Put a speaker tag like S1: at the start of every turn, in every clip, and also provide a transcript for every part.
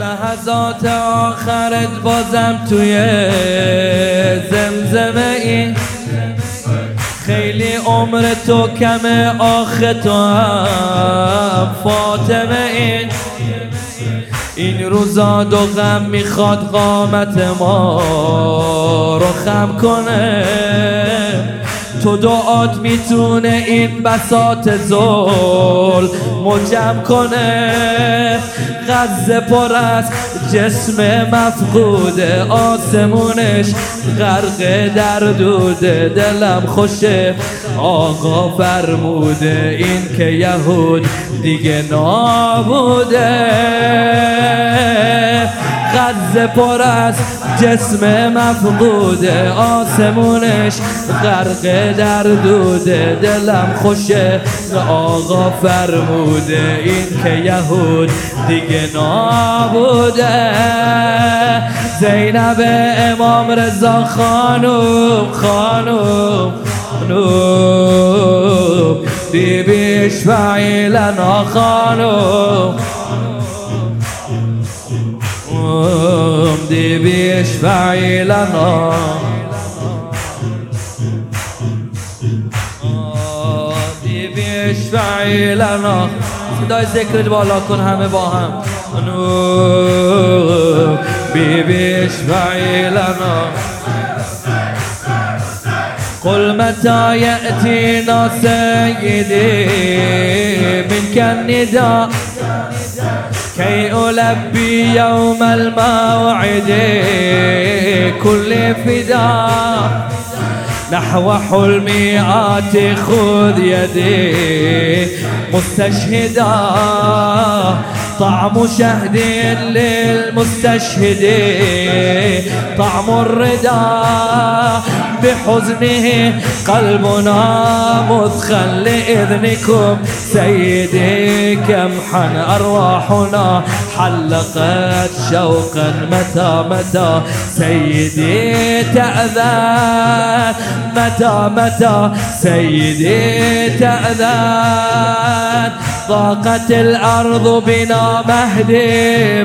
S1: لحظات آخرت بازم توی زمزمه این خیلی عمر تو کمه، آخه تو هم فاطمه این روزا دو غم میخواد قامت ما رو خم کنه. تو دعات میتونه این بساط ظلم جمع کنه. غزه پر از جسم مفقوده، آسمونش غرق در دوده. دلم خوشه آقا فرموده این که یهود دیگه نابوده. غزه پر از جسم مفقوده، آسمونش غرق در دوده. دلم خوشه آقا فرموده این که یهود دیگه نابوده. زینب امام رضا خانوم بی بی اشفعی لنا خانوم دی بی اشفعی لنا دی بی اشفعی لنا. صدای ذکرت بالا کن همه با هم. بی بی اشفعی لنا. قل متى يأتينا سيدي منك النداء كي ألبي يوم الموعد كل فداء نحو حلمي آتي خذ يدي مستشهدا طعم شهد للمستشهد طعم الردى بحزنه قلبنا مثخن لإذنكم سيدي كمحا أرواحنا حلقت شوقا متى متى سيدي تأذن متى سيدي تأذن. ضاقت الأرض بنا مهدي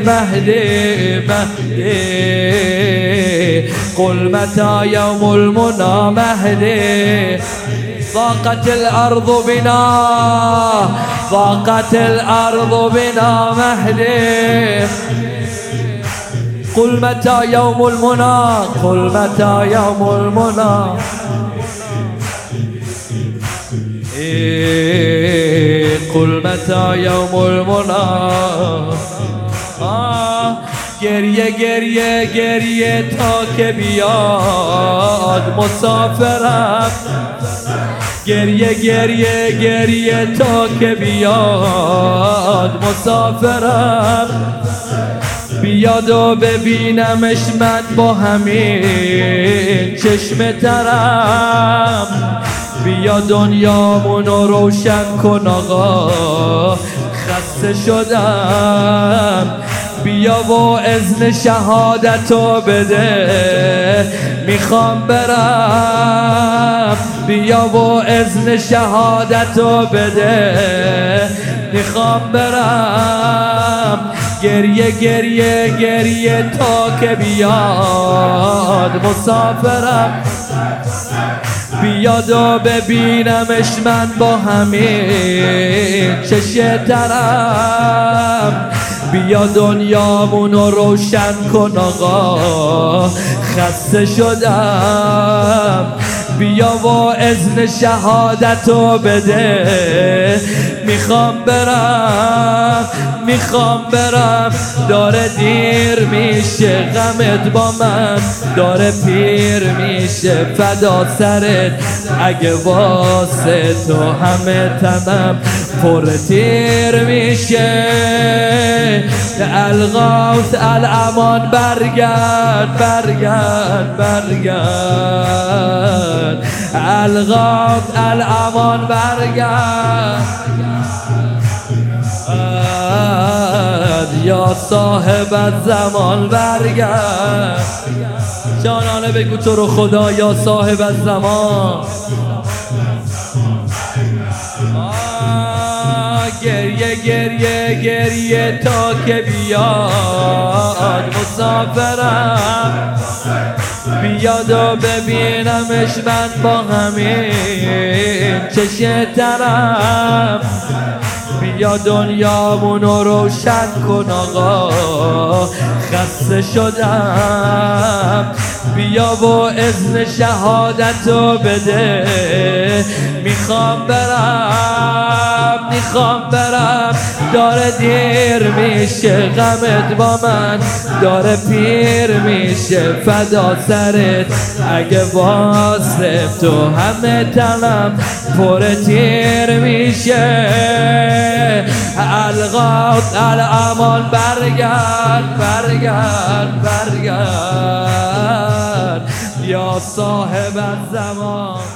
S1: قل متى يوم المنى مهدي. ضاقت الأرض بنا مهدي قل متى يوم المنى قل متى يوم المنى. گریه تا که بیاد مسافرم. گریه تا که بیاد مسافرم. بیاد و ببینمش من با همین چشم ترم. بیا دنیامونو روشن کن آقا خسته شدم. بیا و اذن شهادتو بده میخوام برم. بیا و اذن شهادتو بده میخوام برم. گریه تا که بیاد مسافرم. بیاد و ببینمش من با همین چشم ترم. بیا دنیامونو روشن کن آقا خسته شدم. بیا و اذن شهادتو بده میخوام برم. داره دیر میشه غمت با من، داره پیر میشه فدا سرت. اگه واسه تو همه تنم پر تیر میشه. الغوث الامان برگرد الغوث الامان برگرد یا صاحب الزمان برگرد. جانانه بگو تو رو خدا یا صاحب الزمان. گریه گریه تا که بیاد مسافرم، بیاد و ببینمش من با همین چشه ترم. بیا دنیامونو روشن کن آقا خسته شدم، بیا و اذن شهادتو بده، میخوام برم داره دیر میشه، غمت با من داره پیر میشه، فدا سرت اگه واسه تو همه تنم پر تیر میشه. الغاز الامان برگرد یا صاحب الزمان.